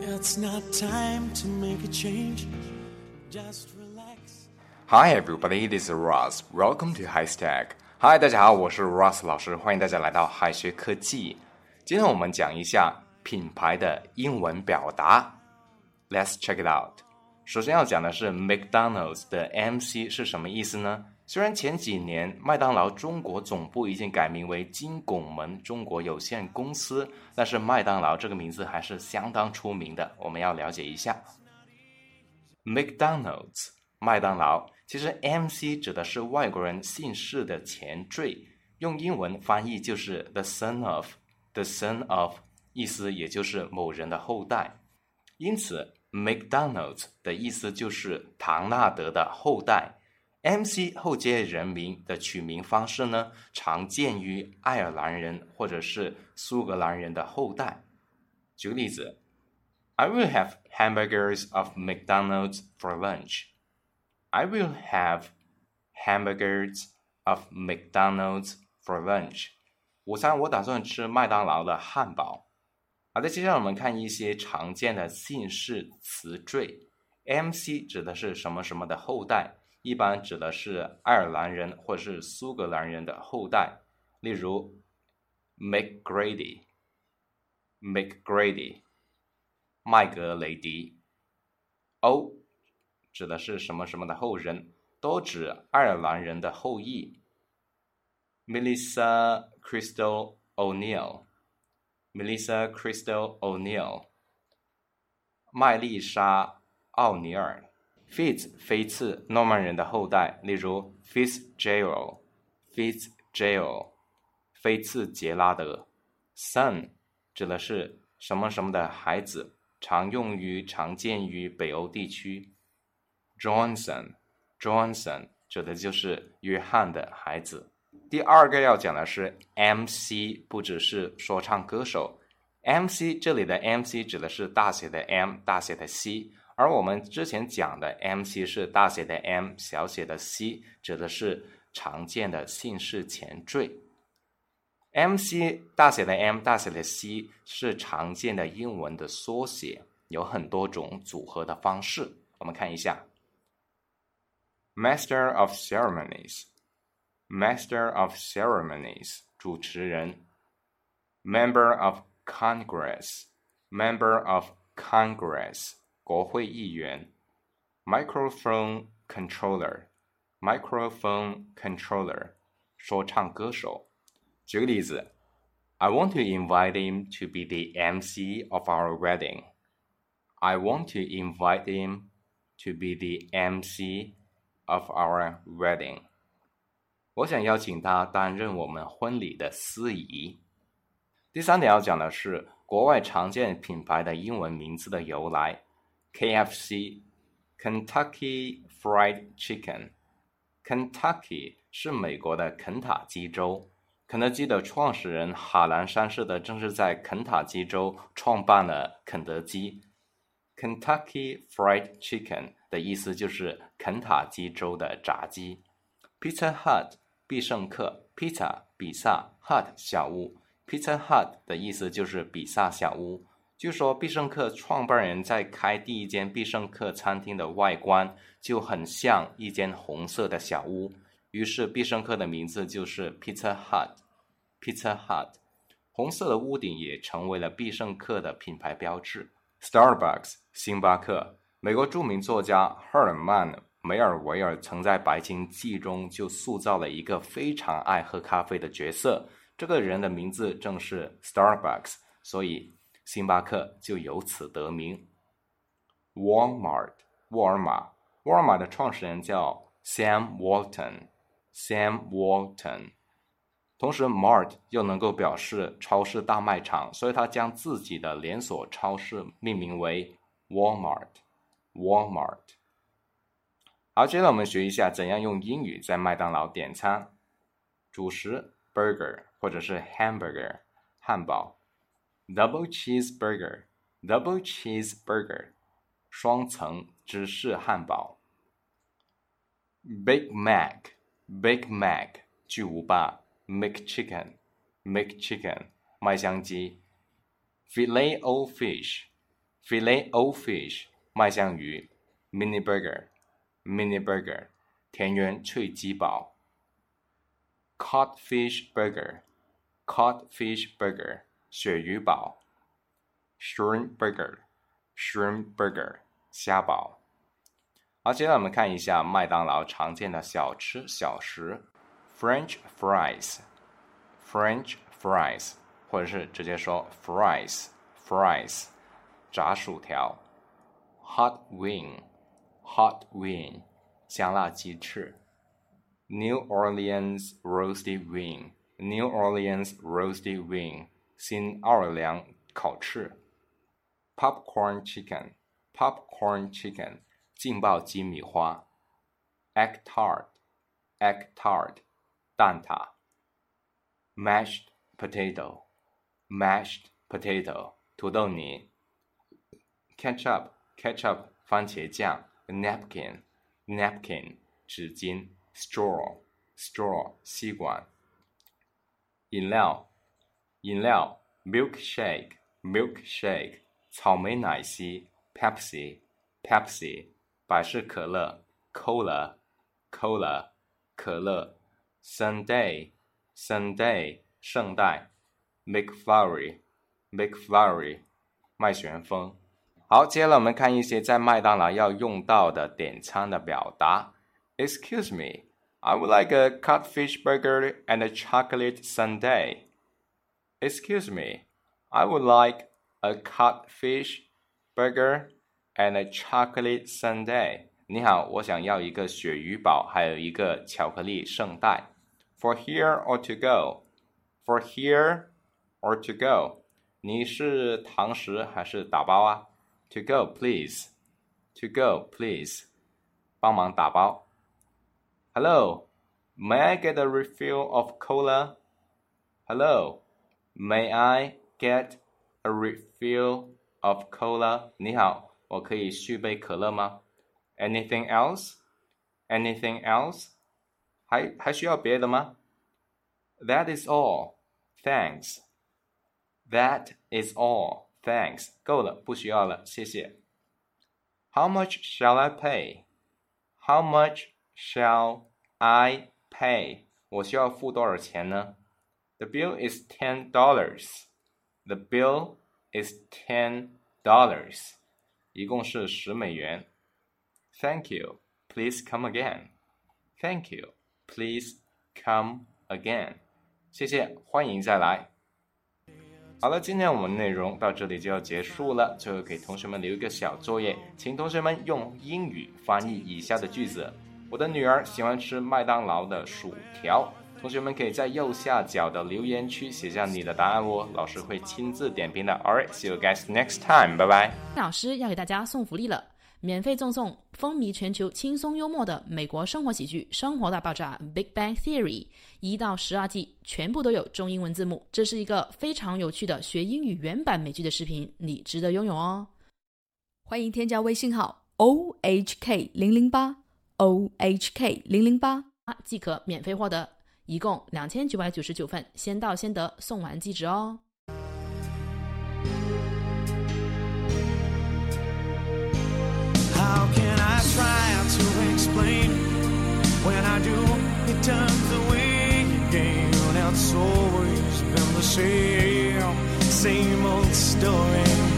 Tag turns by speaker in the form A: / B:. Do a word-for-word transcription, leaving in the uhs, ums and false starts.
A: It's not time to make a change. Just relax.
B: Hi everybody, this is Ross. Welcome to HiStack. Hi， 大家好，我是 Ross 老师，欢迎大家来到海学科技。今天我们讲一下品牌的英文表达。Let's check it out. 首先要讲的是 McDonald's 的 M C 是什么意思呢？虽然前几年麦当劳中国总部已经改名为金拱门中国有限公司，但是麦当劳这个名字还是相当出名的，我们要了解一下。McDonald's 麦当劳，其实 M C 指的是外国人姓氏的前缀，用英文翻译就是 the son of the son of， 意思也就是某人的后代。因此 McDonald's 的意思就是唐纳德的后代。M C 后接人名的取名方式呢，常见于爱尔兰人或者是苏格兰人的后代。举个例子 I will have hamburgers of McDonald's for lunch. I will have hamburgers of McDonald's for lunch. 午餐我打算吃麦当劳的汉堡。好的，接下来我们看一些常见的姓氏词缀。M C 指的是什么什么的后代，一般指的是爱尔兰人或是苏格兰人的后代，例如 McGrady McGrady 麦格雷迪。 O 指的是什么什么的后人，都指爱尔兰人的后裔。 Melissa Crystal O'Neil Melissa Crystal O'Neil 麦丽莎奥尼尔。Fitz 菲茨诺曼人的后代，例如 Fitzgerald Fitzgerald 菲茨杰拉德。 Son 指的是什么什么的孩子，常用于常见于北欧地区。 Johnson Johnson 指的就是约翰的孩子。第二个要讲的是 M C， 不只是说唱歌手。 M C 这里的 M C 指的是大写的 M 大写的 C，而我们之前讲的 M C 是大写的 M 小写的 C， 指的是常见的姓氏前缀。 M C 大写的 M 大写的 C 是常见的英文的缩写，有很多种组合的方式。我们看一下 Master of Ceremonies Master of Ceremonies 主持人。 Member of Congress Member of Congress国会议员。 Microphone controller Microphone controller 说唱歌手。举个例子 I want to invite him to be the M C of our wedding. I want to invite him to be the M C of our wedding. 我想邀请他担任我们婚礼的司仪。第三点要讲的是国外常见品牌的英文名字的由来。K F C Kentucky Fried Chicken Kentucky 是美国的肯塔基州，肯德基的创始人哈兰三世的正是在肯塔基州创办了肯德基。 Kentucky Fried Chicken 的意思就是肯塔基州的炸鸡。 Pizza Hut 必胜客 Pizza 比萨 Hut 小屋， Pizza Hut 的意思就是比萨小屋。据说必胜客创办人在开第一间必胜客餐厅的外观就很像一间红色的小屋，于是必胜客的名字就是 Pizza Hut Pizza Hut。 红色的屋顶也成为了必胜客的品牌标志。 Starbucks 星巴克，美国著名作家赫尔曼梅尔维尔曾在《白鲸记》中就塑造了一个非常爱喝咖啡的角色，这个人的名字正是 Starbucks， 所以星巴克就由此得名。 Walmart 沃尔玛，沃尔玛的创始人叫 Sam Walton Sam Walton， 同时 Mart 又能够表示超市大卖场，所以他将自己的连锁超市命名为 Walmart Walmart。 好，接着我们学一下怎样用英语在麦当劳点餐。主食 burger 或者是 hamburger 汉堡。Double cheeseburger Double cheeseburger 双层芝士汉堡。Big Mac Big Mac 巨无霸。 McChicken McChicken 麦香鸡。Filet-O-Fish Filet o fish 麦香鱼 Mini burger Mini burger 田园脆鸡堡 Cod fish burger Cod fish burger 鳕鱼堡 Shrimp burger Shrimp burger 虾堡。好，接下来我们看一下麦当劳常见的小吃小食 French fries French fries 或者是直接说 fries fries 炸薯条 Hot wing Hot wing 香辣鸡翅 New Orleans roasted wing New Orleans roasted wing 新奥尔良烤翅 Popcorn chicken Popcorn chicken 劲爆鸡米花 Egg tart Egg tart 蛋挞 Mashed potato Mashed potato 土豆泥 Ketchup Ketchup 番茄酱 Napkin Napkin 纸巾 Straw Straw 吸管饮料饮料 Milkshake Milkshake 草莓奶昔 Pepsi Pepsi 百事可乐 Cola Cola 可乐 Sundae Sundae 圣代 McFlurry McFlurry 麦旋风。好，接下来我们看一些在麦当劳要用到的点餐的表达 Excuse me, I would like a codfish burger and a chocolate sundae. Excuse me, I would like a codfish burger and a chocolate sundae. 你好，我想要一个鳕鱼堡，还有一个巧克力圣代。For here or to go? For here or to go? 你是堂食还是打包啊？ To go, please. To go, please. 帮忙打包。Hello, may I get a refill of cola? Hello, may I get a refill of cola? 你好，我可以续杯可乐吗？ Anything else? Anything else? 还还需要别的吗？ That is all. Thanks. That is all. Thanks. 够了，不需要了，谢谢。How much shall I pay? How much shall I pay? 我需要付多少钱呢？ The bill is ten dollars. The bill is ten dollars. 一共是十美元。Thank you. Please come again. Thank you. Please come again. 谢谢，欢迎再来。好了，今天我们内容到这里就要结束了。最后给同学们留一个小作业，请同学们用英语翻译以下的句子。我的女儿喜欢吃麦当劳的薯条。同学们可以在右下角的留言区写下你的答案哦，老师会亲自点评的。Alright, see you guys next time. 拜拜。
C: 老师要给大家送福利了。免费赠送风靡全球轻松幽默的美国生活喜剧《生活大爆炸》 Big Bang Theory 一到十二季全部都有中英文字幕，这是一个非常有趣的学英语原版美剧的视频，你值得拥有哦。
D: 欢迎添加微信号 O H K 零零八 O H K 零零八
C: 即可免费获得，一共两千九百九十九份，先到先得，送完即止哦。
A: How can I try to explain when I do, it turns away again? It's always been the same, same old story.